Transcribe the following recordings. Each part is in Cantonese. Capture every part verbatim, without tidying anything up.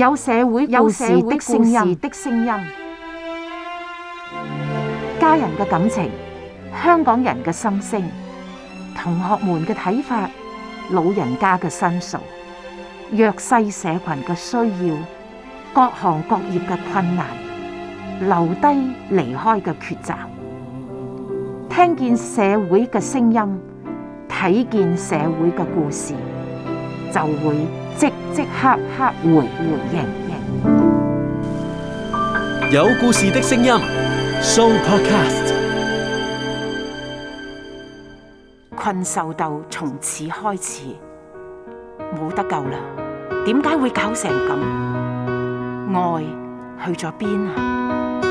有社會故事的聲音，的聲音，家人嘅感情，香港人嘅心聲，同學們嘅睇法，老人家嘅申訴，弱勢社群嘅需要，各行各業嘅困難，留低離開嘅抉擇，聽見社會嘅聲音，睇見社會嘅故事，就會即即刻刻回回應。 有故事的聲音 Sooo Podcast。 困獸鬥從此開始，冇得救啦！點解會搞成咁？愛去咗邊啊？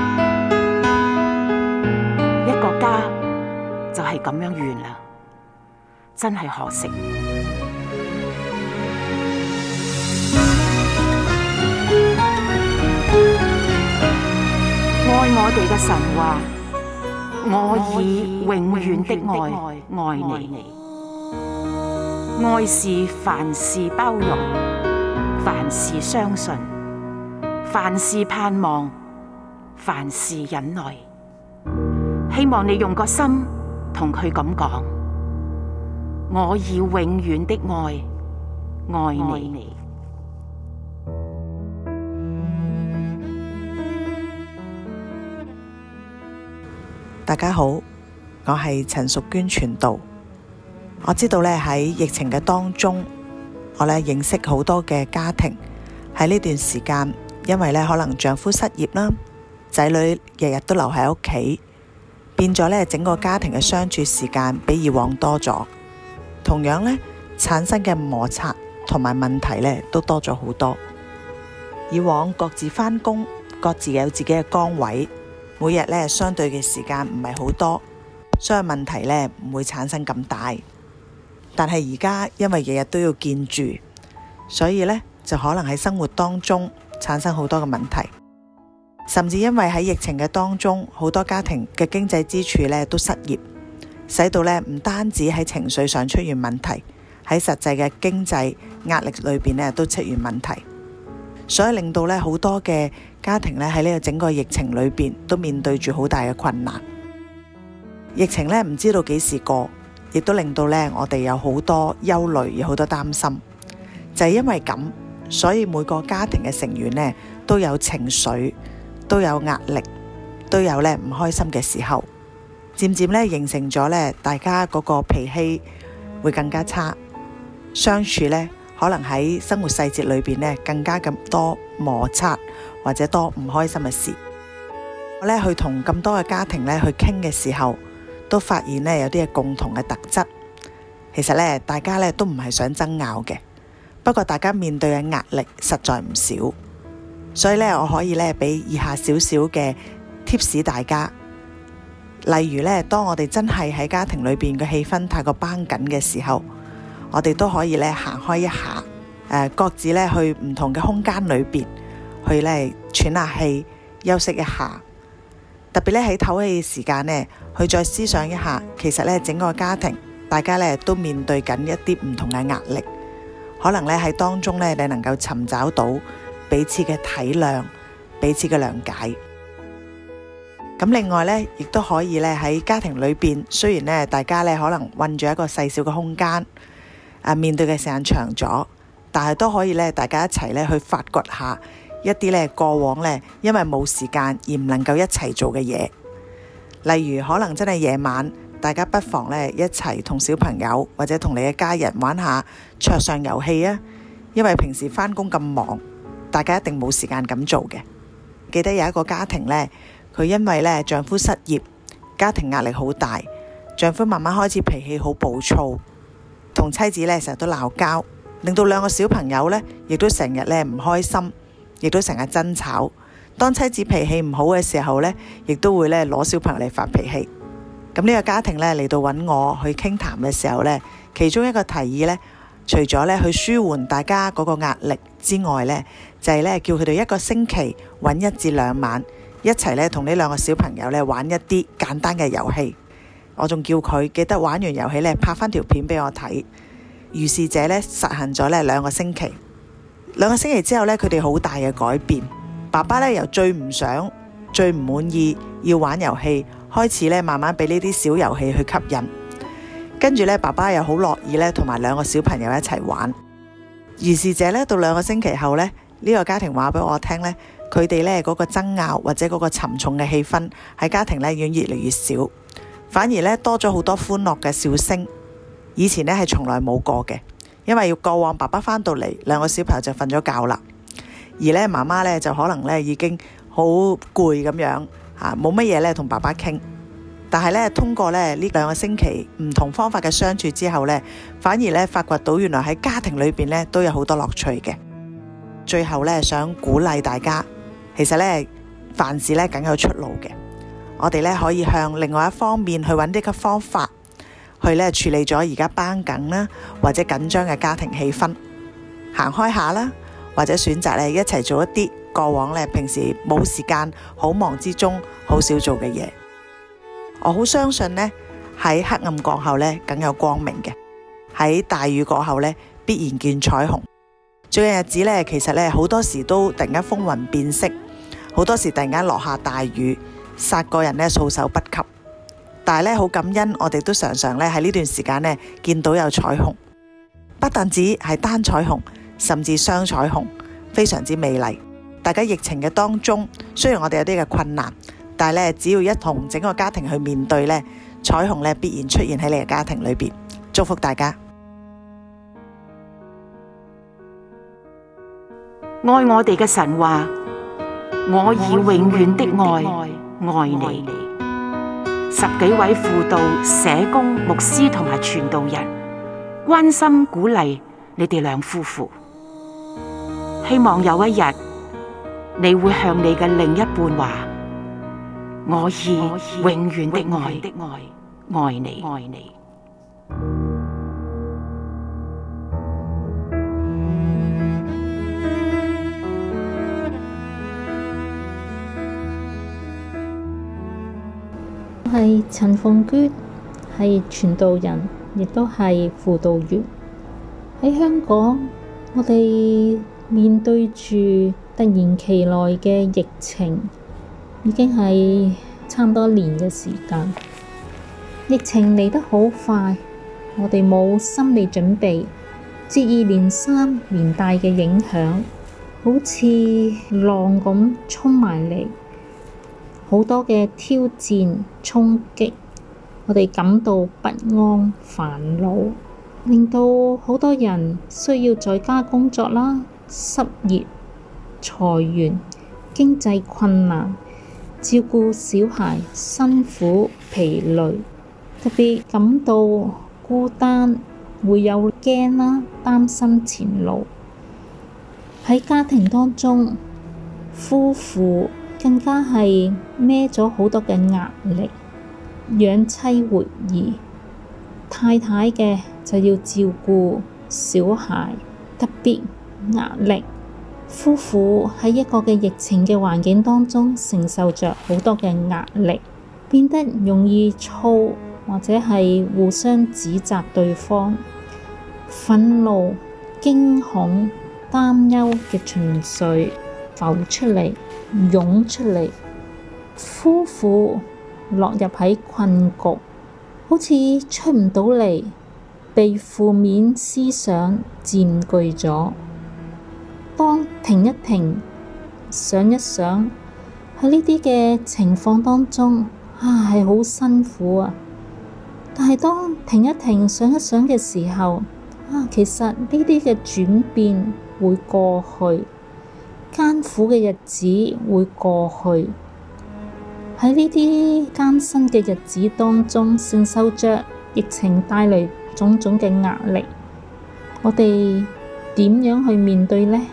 一個家就係咁樣完啦，真係可惜。愛我哋嘅神話，我以永遠的愛愛你。愛是凡事包容，凡事相信，凡事盼望，凡事忍耐。希望你用個心同佢咁講，我以永遠的愛愛你。 大家好，我係陳淑娟傳道。我知道咧喺疫情嘅當中，我咧認識好多嘅家庭喺呢段時間，因為咧可能丈夫失業啦，仔女日日都留喺屋企，變咗咧整個家庭嘅相處時間比以往多咗，同樣咧產生嘅摩擦同埋問題咧都多咗好多。以往各自返工，各自有自己嘅崗位，每日咧相對嘅時間唔係好多，所以問題咧唔會產生咁大。但係而家因為日日都要見住，所以咧就可能喺生活當中產生好多嘅問題，甚至因為喺疫情嘅當中，好多家庭嘅經濟支柱咧都失業，使到咧唔單止喺情緒上出現問題，喺實際嘅經濟壓力裏邊咧都出現問題，所以令到咧好多嘅家庭咧喺呢個整個疫情裏邊都面對住好大嘅困難。疫情咧唔知道幾時過，亦都令到咧我哋有好多憂慮，有好多擔心。就係因為咁，所以每個家庭嘅成員咧都有情緒，都有壓力，都有咧唔開心嘅時候，漸漸咧形成咗咧大家嗰個脾氣會更加差，相處咧可能喺生活細節裏邊咧更加咁多摩擦或者多唔開心嘅事。我咧去同咁多嘅家庭咧去傾嘅時候，都發現咧有啲嘅共同嘅特質。其實咧大家咧都唔係想爭拗嘅，不過大家面對嘅壓力實在唔少，所以咧我可以咧俾以下少少嘅 tips 大家。例如咧，當我哋真係喺家庭裏邊嘅氣氛太過繃緊嘅時候，我哋都可以咧行開一下，誒、呃、各自咧去唔同嘅空間裏邊去咧喘下氣，休息一下。特別咧喺唞氣嘅時間呢，去再思想一下，其實咧整個家庭大家咧都面對緊一啲唔同嘅壓力，可能咧喺當中咧你能夠尋找到彼此嘅體諒，彼此嘅諒解。咁另外咧，亦都可以咧喺家庭裏邊，雖然咧大家咧可能困住一個細小嘅空間，啊面對嘅時間長咗，但係都可以咧大家一齊咧去發掘下一啲咧過往咧因為冇時間而唔能夠一齊做嘅嘢。例如可能真係夜晚，大家不妨咧一齊同小朋友或者同你嘅家人玩下桌上遊戲啊。因為平時返工咁忙，大家一定冇時間咁做嘅。記得有一個家庭咧，佢因為咧丈夫失業，家庭壓力好大，丈夫慢慢開始脾氣好暴躁，同妻子咧成日都鬧交，令到兩個小朋友咧亦都成日咧唔開心，亦都成日爭吵。當妻子脾氣唔好嘅時候咧，亦都會咧攞小朋友嚟發脾氣。咁呢個家庭咧嚟到揾我去傾談嘅時候咧，其中一個提議咧，除咗咧去舒緩大家嗰個壓力之外咧，就係咧叫佢哋一個星期揾一至兩晚，一齊咧同呢兩個小朋友咧玩一啲簡單嘅遊戲。我仲叫佢記得玩完遊戲咧拍翻條片俾我睇。如是者咧實行咗咧兩個星期。 兩個星期之後呢，佢哋好大嘅改變。爸爸呢由最唔想、最唔滿意要玩遊戲，開始呢慢慢俾呢啲小遊戲去吸引。跟住呢，爸爸又好樂意呢同埋兩個小朋友一齊玩。如是者呢，到兩個星期後呢，呢個家庭話俾我聽呢，佢哋呢嗰個爭拗或者嗰個沉重嘅氣氛喺家庭呢已經越嚟越少，反而呢多咗好多歡樂嘅笑聲。以前呢係從來冇過嘅，因為要過往爸爸返到嚟，兩個小朋友就瞓咗覺啦，而呢媽媽呢就可能呢已經好攰咁樣嚇，冇乜嘢呢同爸爸傾。但係呢，通過呢呢兩個星期唔同方法嘅相處之後呢，反而呢發掘到原來喺家庭裏邊呢都有好多樂趣嘅。最後呢，想鼓勵大家，其實呢凡事呢梗有出路嘅。我哋呢可以向另外一方面去揾啲嘅方法，去呢處理咗而家繃緊啦或者緊張嘅家庭氣氛，行開下啦，或者選擇呢一齊做一啲過往呢平時冇時間好忙之中好少做嘅嘢。我好相信呢，喺黑暗過後呢梗有光明嘅，喺大雨過後呢必然見彩虹。最近日子呢，其實呢好多時都突然間風雲變色，好多時突然間落下大雨，殺個人呢措手不及。但係呢，好感恩，我哋都常常呢喺呢段時間呢見到有彩虹，不但止係單彩虹，甚至雙彩虹，非常之美麗。大家疫情嘅當中，雖然我哋有啲嘅困難，但係呢，只要一同整個家庭去面對呢，彩虹呢必然出現喺你嘅家庭裏邊。祝福大家。 愛我哋嘅神話，我以永遠的愛愛你。十幾位輔導、社工、牧師同埋傳道人關心鼓勵你哋兩夫婦，希望有一日你會向你嘅另一半話：我以永遠的愛愛你。愛你。 我係陳鳳娟，係傳道人，亦都係輔導員。喺香港，我哋面對住突然其來嘅疫情，已經係差唔多年嘅時間。疫情嚟得好快，我哋冇心理準備，接二連三連帶嘅影響，好似浪咁衝埋嚟。好多嘅挑戰衝擊，我哋感到不安煩惱，令到好多人需要在家工作啦，失業、裁員、經濟困難，照顧小孩辛苦疲累，特別感到孤單，會有驚啦，擔心前路。喺家庭當中，夫婦更加係孭咗好多嘅壓力，養妻活兒，太太嘅就要照顧小孩，特別壓力。夫婦喺一個嘅疫情嘅環境當中，承受着好多嘅壓力，變得容易燥，或者係互相指責對方，憤怒、驚恐、擔憂嘅情緒浮出嚟，湧出嚟，夫婦落入喺困局，好似出唔到嚟，被負面思想佔據咗。當停一停，想一想，喺呢啲嘅情況當中，啊係好辛苦啊！但係當停一停，想一想嘅時候，啊其實呢啲嘅轉變會過去。艱苦嘅日子會過去，喺呢啲艱辛嘅日子當中，承受着疫情帶嚟種種嘅壓力，我哋點樣去面對呢？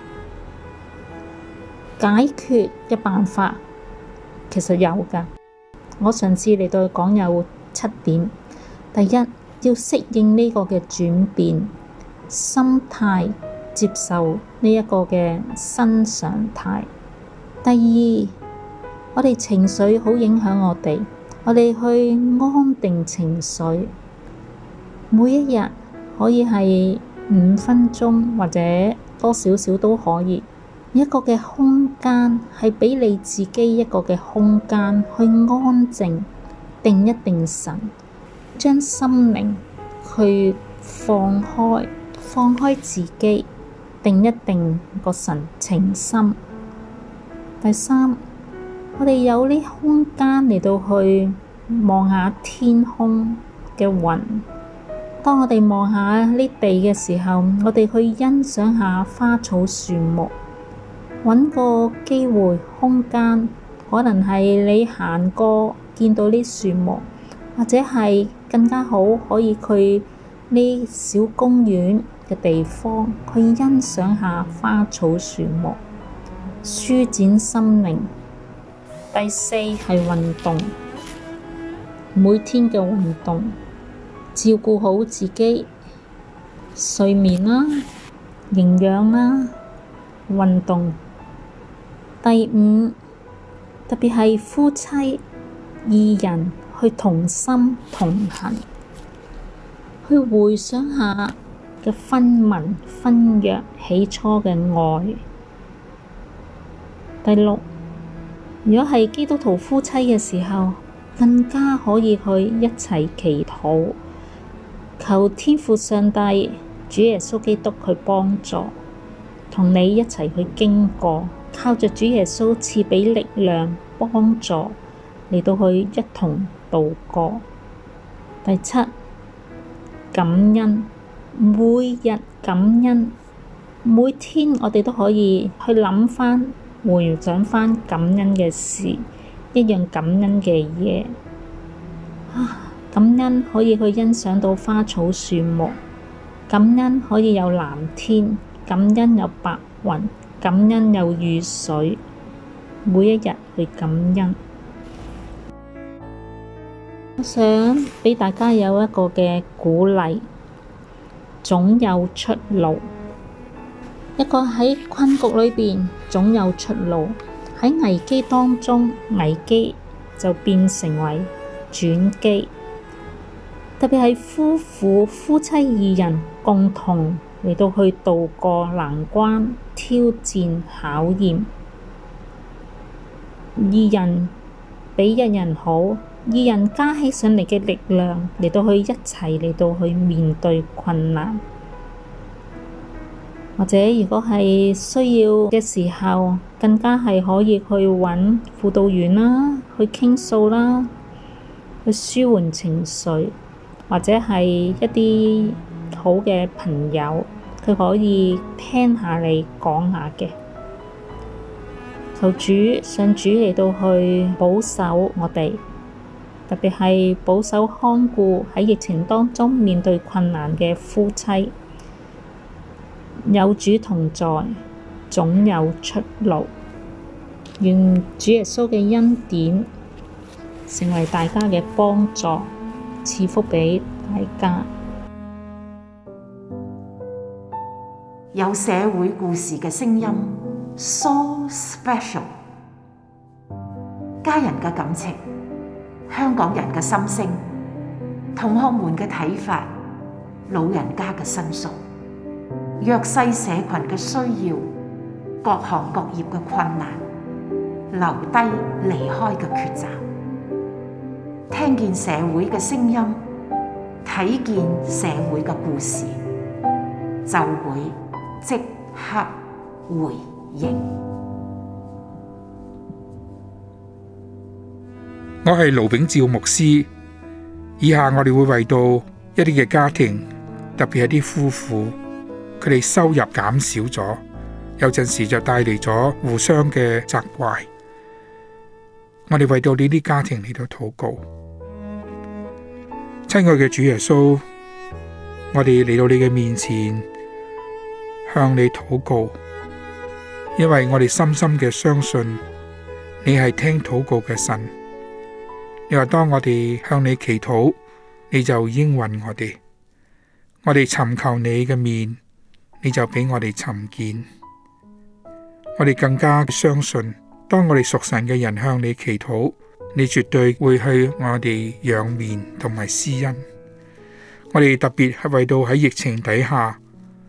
解決嘅辦法其實有㗎，我上次嚟到講有七點。第一，要適應呢個嘅轉變，心態接受呢一個嘅新常態。第二，我哋情緒好影響我哋，我哋去安定情緒。每一日可以係五分鐘或者多少少都可以。一個嘅空間係俾你自己一個嘅空間去安靜，定一定神，將心靈去放開，放開自己，定一定個神情心。第三，我哋有呢空間嚟到去望下天空嘅雲。當我哋望下呢地嘅時候，我哋去欣賞下花草樹木，揾個機會空間，可能係你行過見到啲樹木，或者係更加好可以去呢小公園嘅地方去欣賞下花草樹木，舒展心靈。第四係運動，每天嘅運動，照顧好自己，睡眠啦、營養啦、運動。第五，特別係夫妻二人去同心同行，去回想下嘅婚盟婚約起初嘅愛。第六，如果係基督徒夫妻嘅時候，更加可以去一齊祈禱，求天父上帝、主耶穌基督去幫助，同你一齊去經過，靠着主耶穌賜畀力量幫助，嚟到去一同度過。第七，感恩，每日感恩，每天我哋都可以去諗返、回想返感恩嘅事，一樣感恩嘅嘢。啊，感恩可以去欣賞到花草樹木，感恩可以有藍天，感恩有白雲，感恩有雨水，每一日去感恩。我想畀大家有一個嘅鼓勵，總有出路。一個喺困局裏邊總有出路，喺危機當中，危機就變成為轉機。特別係夫婦、夫妻二人共同嚟到去渡過難關、挑戰、考驗，二人比一人好，二人加起上嚟嘅力量嚟到去一齊嚟到去面對困難。或者如果係需要嘅時候，更加係可以去揾輔導員啦，去傾訴啦，去舒緩情緒，或者係一啲好嘅朋友，佢可以聽下你講下嘅。求主上主嚟到去保守我哋，特別係保守看顧喺疫情當中面對困難嘅夫妻。有主同在，總有出路。願主耶穌嘅恩典成為大家嘅幫助，賜福畀大家。 有社會故事嘅聲音 ，So special。家人嘅感情，香港人嘅心聲，同學們嘅睇法，老人家嘅申訴，弱勢社群嘅需要，各行各業嘅困難，留低離開嘅抉擇，聽見社會嘅聲音，睇見社會嘅故事，就會即刻回應。 我係盧炳照牧師，以下我哋會為到一啲嘅家庭，特別係啲夫婦，佢哋收入減少咗，有陣時就帶嚟咗互相嘅責怪。我哋為到呢啲家庭嚟到禱告。親愛嘅主耶穌，我哋嚟到你嘅面前，向你禱告，因為我哋深深嘅相信你係聽禱告嘅神。你話當我哋向你祈禱，你就應允我哋。我哋尋求你嘅面，你就俾我哋尋見。我哋更加相信，當我哋屬神嘅人向你祈禱，你絕對會去我哋仰面同埋施恩。我哋特別係為到喺疫情底下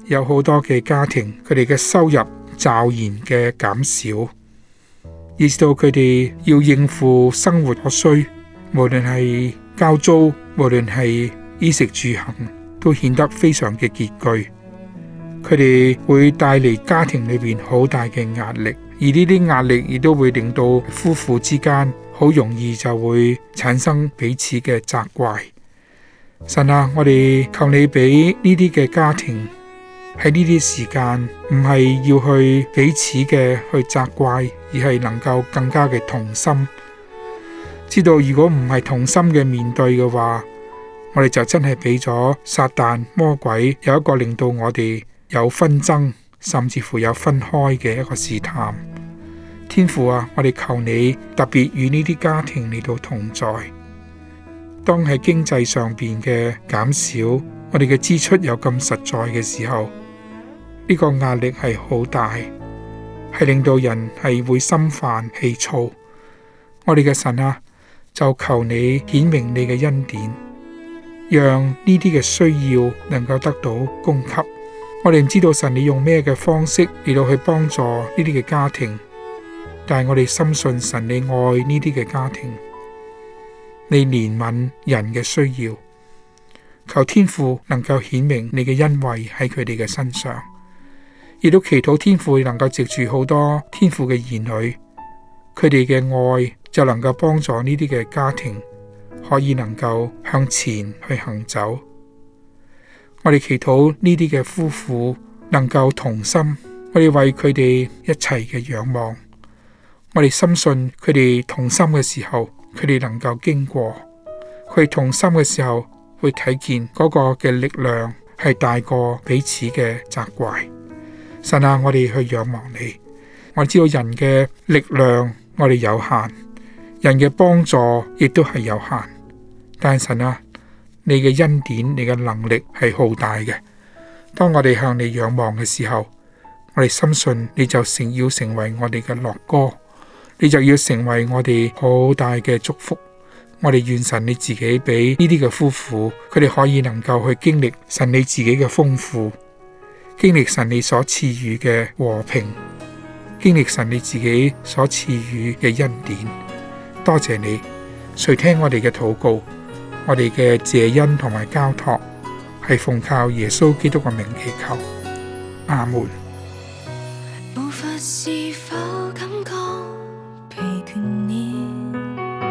有好多嘅家庭，佢哋嘅收入驟然嘅減少，以至到佢哋要應付生活所需，無論係交租，無論係衣食住行，都顯得非常嘅拮據。佢哋會帶嚟家庭裏邊好大嘅壓力，而呢啲壓力亦都會令到夫婦之間好容易就會產生彼此嘅責怪。神啊，我哋求你俾呢啲嘅家庭喺呢啲時間，唔係要去彼此嘅去責怪，而係能夠更加嘅同心。知道如果唔係同心嘅面對嘅話，我哋就真係俾咗撒旦魔鬼有一個令到我哋有紛爭，甚至乎有分開嘅一個試探。天父啊，我哋求你特別與呢啲家庭嚟到同在。當喺經濟上邊嘅減少，我哋嘅支出有咁實在嘅時候，呢個壓力係好大，係令到人係會心煩氣躁。我哋嘅神啊，就求你顯明你嘅恩典，讓呢啲嘅需要能夠得到供給。我哋唔知道神你用咩嘅方式嚟到去幫助呢啲嘅家庭，但係我哋深信神你愛呢啲嘅家庭，你憐憫人嘅需要。求天父能夠顯明你嘅恩惠喺佢哋嘅身上，亦都祈禱天父能夠藉住好多天父嘅兒女，佢哋嘅愛就能夠幫助呢啲嘅家庭可以能夠向前去行走。我哋祈禱呢啲嘅夫婦能夠同心，我哋為佢哋一齊嘅仰望。我哋深信佢哋同心嘅時候，佢哋能夠經過，佢哋同心嘅時候會睇見嗰個嘅力量係大過彼此嘅責怪。神啊，我哋去仰望你。我知道人嘅力量我哋有限，人嘅幫助亦都係有限，但係神啊，你嘅恩典，你嘅能力係浩大嘅。當我哋向你仰望嘅時候，我哋深信你就成要成為我哋嘅樂歌，你就要成為我哋好大嘅祝福。我哋願神你自己俾呢啲嘅夫婦，佢哋可以能夠去經歷神你自己嘅豐富，經歷神你所賜予嘅和平，經歷神你自己所賜予嘅恩典。多謝你，垂聽我哋嘅禱告，我哋嘅謝恩同埋交託，係奉靠耶穌基督嘅名祈求，阿門。 無法是否感覺疲倦了？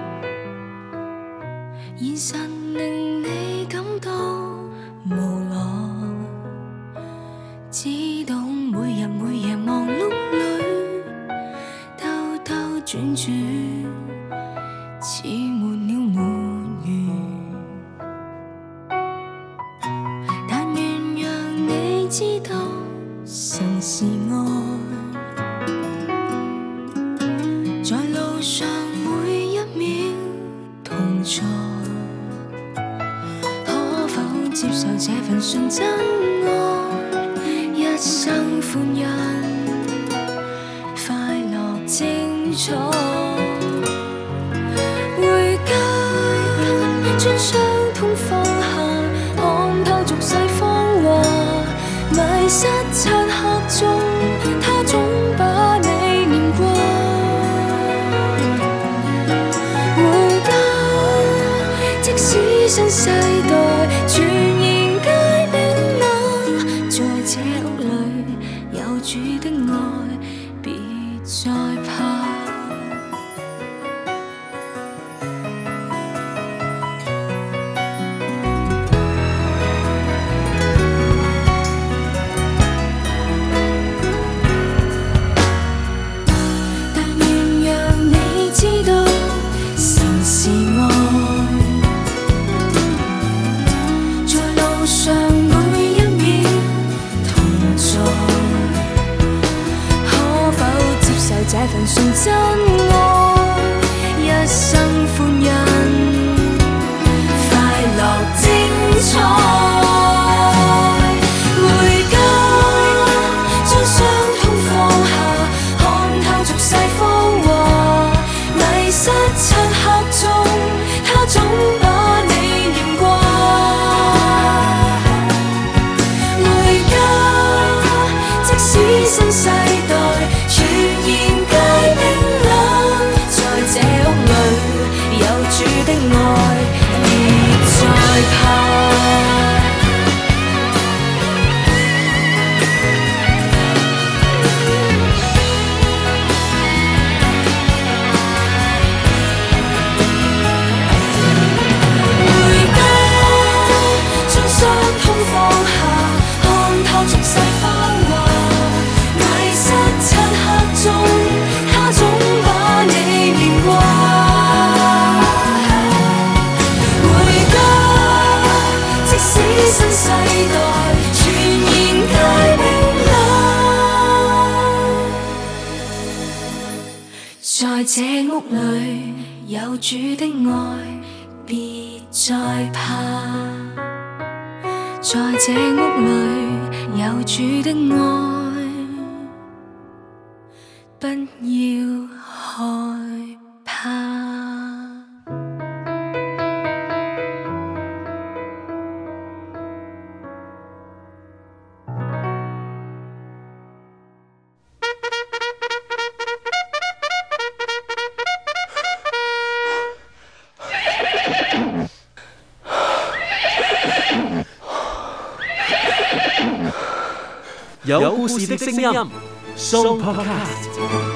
現實令你感到無奈，知道每日每夜忙碌裏兜兜轉轉，似沒了沒完。但願讓你知道神是愛，在路上每一秒同在。可否接受這份純真愛，一生歡欣，快樂精彩。回家將傷痛放下，看透俗世謊話，迷失漆黑中，他總把你念掛。回家，即使新世代全然皆冰冷，在這屋裏有主的愛，別再怕。這份純真愛，一生歡欣，快樂精彩。回家，將傷痛放下，看透俗世謊話，迷失漆黑中，他總把你念掛。回家。 這屋裏有主的愛，別再怕。在這屋裏有主的愛，不要害怕。 有故事的聲音，Sooo Podcast。